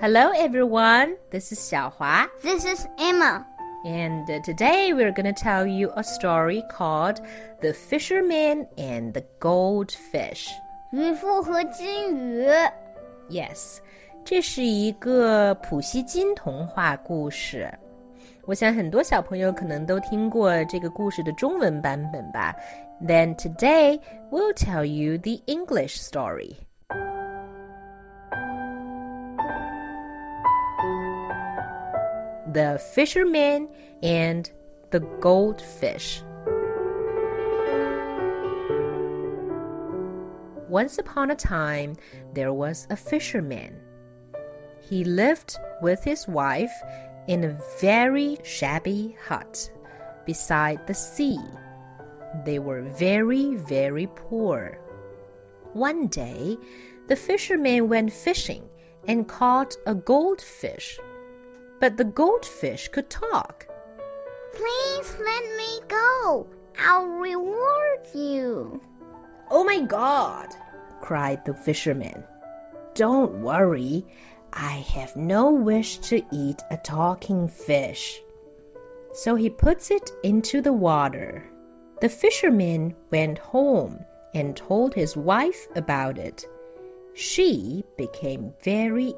Hello everyone, this is Xiaohua. This is Emma. And today we're going to tell you a story called The Fisherman and the Goldfish. 渔夫和金鱼 Yes, 这是一个普希金童话故事。我想很多小朋友可能都听过这个故事的中文版本吧。Then today we'll tell you the English story.The Fisherman and the Goldfish. Once upon a time, there was a fisherman. He lived with his wife in a very shabby hut beside the sea. They were very, very poor. One day, the fisherman went fishing and caught a goldfish.But the goldfish could talk. Please let me go. I'll reward you. Oh my God, cried the fisherman. Don't worry. I have no wish to eat a talking fish. So he puts it into the water. The fisherman went home and told his wife about it. She became very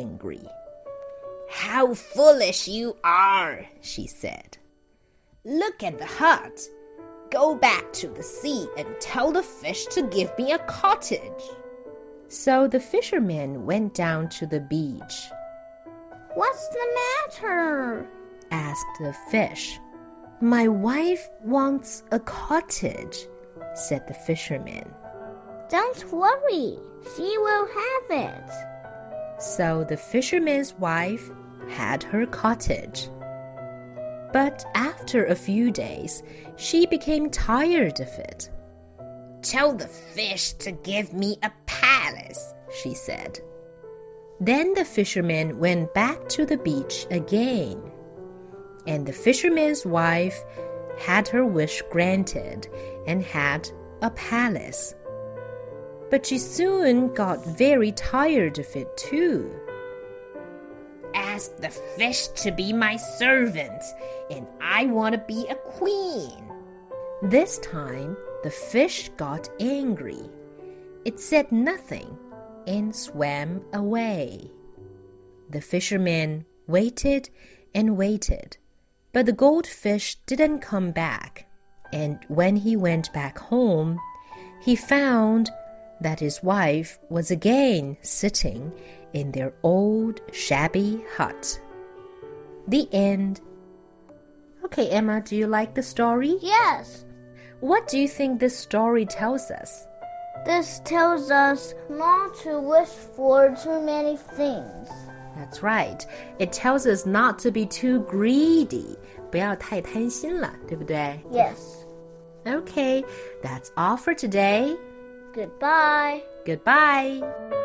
angry.How foolish you are, she said. Look at the hut. Go back to the sea and tell the fish to give me a cottage. So the fisherman went down to the beach. What's the matter? Asked the fish. My wife wants a cottage, said the fisherman. Don't worry, she will have it.So the fisherman's wife had her cottage. But after a few days, she became tired of it. Tell the fish to give me a palace, she said. Then the fisherman went back to the beach again. And the fisherman's wife had her wish granted and had a palace.But she soon got very tired of it too. Ask the fish to be my servant, and I want to be a queen. This time, the fish got angry. It said nothing and swam away. The fisherman waited and waited, but the goldfish didn't come back. And when he went back home, he found...that his wife was again sitting in their old shabby hut. The end. Okay, Emma, do you like the story? Yes. What do you think this story tells us? This tells us not to wish for too many things. That's right. It tells us not to be too greedy. 不要太贪心了，对不对？ Yes. Okay, that's all for today.Goodbye. Goodbye.